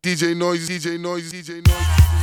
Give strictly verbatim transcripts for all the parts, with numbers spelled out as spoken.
D J Noise, D J Noise, D J Noise.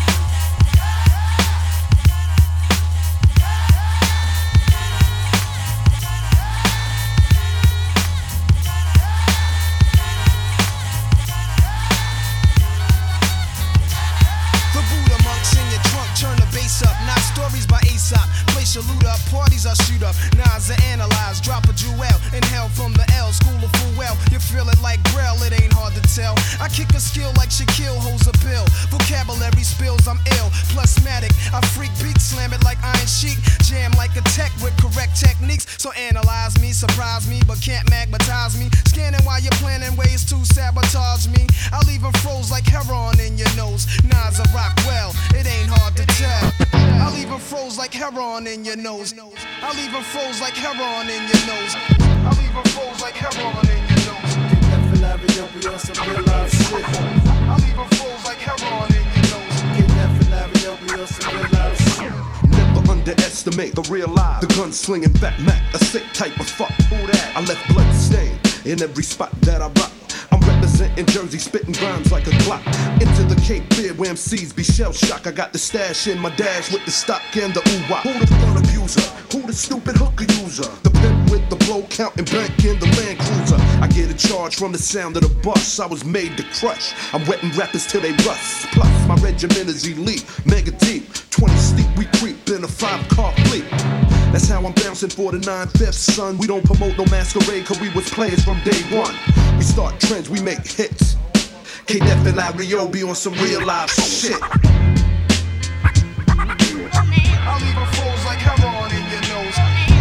Up, not stories by Aesop. Place your loot up, parties I shoot up. Nas I analyze, drop a jewel. Inhale from the L, school of full well. You feel it like Braille, it ain't hard to tell. I kick a skill like Shaquille holds a pill. Vocabulary spills, I'm ill. Plusmatic, I freak beat, slam it like Iron Sheik. Jam like a tech with correct techniques. So analyze me, surprise me, but can't magnetize me. Scanning while you're planning ways to sabotage me. I'll even froze like heroin in your nose. Nas I rock well, it ain't hard to tell. I'll even froze like heroin in your nose. I'll even froze like heroin in your nose. I'll even froze like heroin in your nose. Get that Philadelphia up on some real life shit. I'll even froze like heroin in your nose. Get that Philadelphia up on some real life shit. Never underestimate the real life. The gun-slinging fat Mac, a sick type of fuck. Who that? I left blood stain in every spot that I rock. I'm representing Jersey, spitting rhymes like a clock. Into the Cape Fear where M Cs be shell shock. I got the stash in my dash with the stock and the ooh-wah. Who the gun abuser? Who the stupid hooker user? The pimp with the blow counting bank in the Land Cruiser. I get a charge from the sound of the bus. I was made to crush. I'm wetting rappers till they rust. Plus my regiment is elite, mega deep. twenty steep, we creep in a five-car fleet. That's how I'm bouncing for the nine-fifths, son. We don't promote no masquerade, cause we was players from day one. We start trends, we make hits. K-Def and Larry-O be on some real life shit. I'll even froze like heroin in your nose.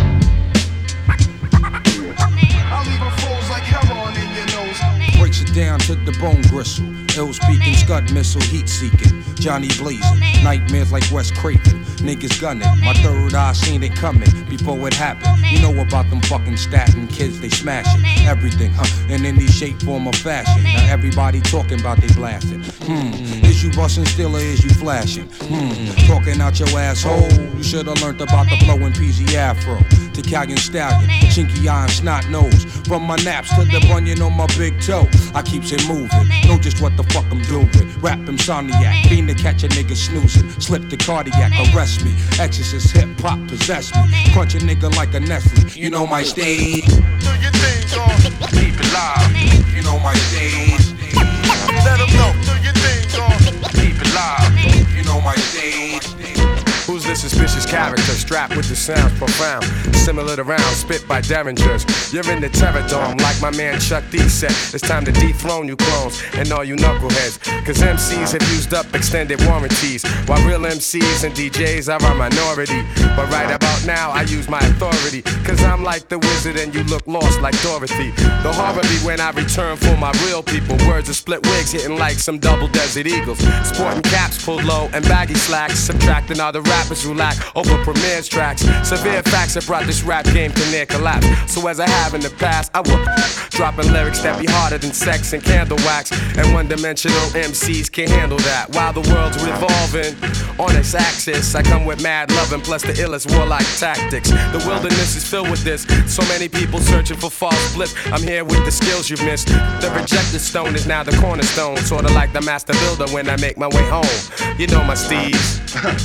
I'll even froze like heroin in your nose. Breaks it down to the bone gristle. Ill speaking, scud missile, heat seeking. Johnny blazing, nightmares like Wes Craven. Niggas gunning, my third eye seen it coming before it happened. You know about them fucking statin kids, they smashing everything, huh? And in any shape, form, or fashion. Now everybody talking about they blasting. Hmm, is you busting still or is you flashing? Hmm, talking out your asshole. You should've learned about the flow in P Z Afro. Italian stallion, chinky eye and snot nose. From my naps to the bunion on my big toe, I keeps it moving. Know just what the fuck I'm doing. Rap insomniac, fiend to catch a nigga snoozing. Slip the cardiac, arrest me. Exorcist hip hop possess me. Crunch a nigga like a Nestle. You know my stage. Do your thing, dog. Keep it live. You know my stage. Let them know. Do your thing, dog. Keep it live. You know my stage. Who's this suspicious character strapped with the sounds profound? Similar to rounds spit by derringers. You're in the terror dome like my man Chuck D said. It's time to dethrone you clones and all you knuckleheads. Cause M Cs have used up extended warranties, while real M Cs and D Js are a minority. But right about now I use my authority, cause I'm like the wizard and you look lost like Dorothy. The horror be when I return for my real people. Words of split wigs hitting like some double Desert Eagles. Sporting caps pulled low and baggy slacks, subtracting all the rappers who lack over premieres tracks. Severe facts have brought this rap game to near collapse. So as I have in the past, I will dropping lyrics that be harder than sex and candle wax. And one-dimensional M Cs can't handle that. While the world's revolving on its axis, I come with mad loving plus the illest warlike tactics. The wilderness is filled with this. So many people searching for false bliss. I'm here with the skills you've missed. The rejected stone is now the cornerstone. Sorta like the master builder when I make my way home. You know my steeds.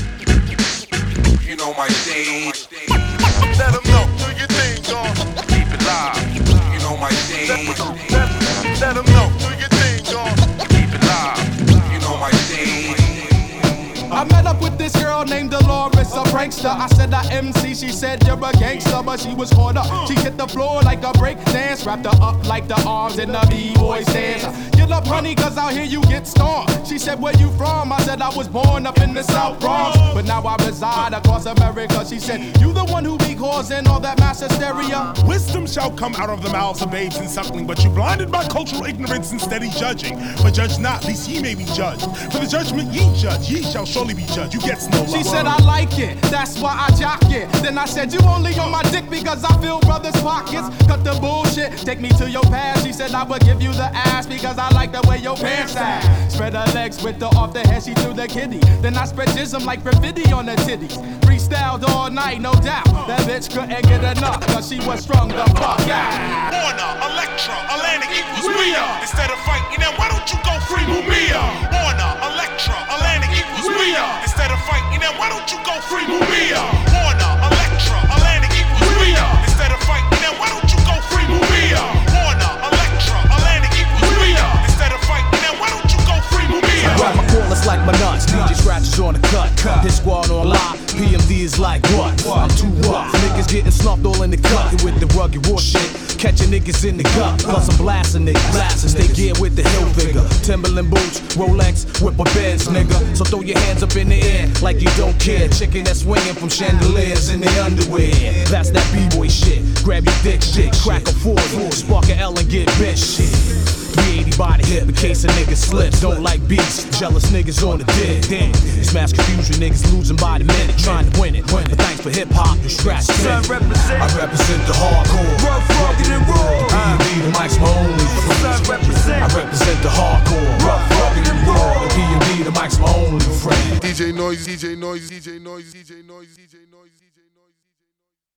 You know my stage. Let them know. Do your thing, dog. Keep it live. You know my stage. Let, let them know. Do your thing, dog. Keep it live. You know my stage. I met up with this girl named Dolores, a prankster. I said I M C, she said you're a gangster, but she was caught up. She hit the floor like a break dance, wrapped her up like the arms in the B-boy stance. Get up, honey, cause out here you get stormed. She said, where you from? I said I was born up in the South Bronx, but now I reside across America. She said, you the one who be causing all that mass hysteria? Wisdom shall come out of the mouths of babes and suckling, but you blinded by cultural ignorance and steady judging. But judge not, lest ye may be judged. For the judgment ye judge, ye shall surely be judged. You get no love. She said I like it, that's why I jock it. Then I said you only on my dick because I fill brothers' pockets. Cut the bullshit, take me to your past. She said I would give you the ass because I like the way your pants sag. Spread her legs with the off the head, she threw the kitty. Then I spread jism like graffiti on her titties. Freestyled all night, no doubt. That bitch couldn't get enough cause she was strung the fuck out. Warner, Electra, Atlantic equals Rhea. Instead of fighting, then why don't you go free Mumia? don't you go free Maria? Warner, Electra, Atlantic equals Rhea. Instead of fighting them, why don't you go free Maria? Warner, Electra, Atlantic equals Rhea. Instead of fighting them, why don't you go free Maria? I grab my cordless like my nuts, D J scratches on the cut. His squad on live, P M D is like what? I'm too rough. Niggas getting slumped all in the cut with the rugged war shit. Catching niggas in the gut, plus I'm blasting niggas. Blasting, stay geared with the hill figure. Timberland boots, Rolex, whip a Benz, nigga. So throw your hands up in the air like you don't care. Chicken that's swinging from chandeliers in the underwear. That's that B-boy shit. Grab your dick shit, crack a forty, spark a L and get bitch shit. three eighty by the hip in case a nigga slips. Don't like beats, jealous niggas on the dick. Damn, it's mass confusion, niggas losing by the minute, trying to win it. But thanks for hip hop, you scratch it. I represent the hardcore, rough, rugged and raw. P M D, the mic's my only friend. I represent the hardcore, rough, rugged and raw. P M D, the mic's my only friend. D J Noise, D J Noise, D J Noise, D J Noise, D J Noise, D J Noise.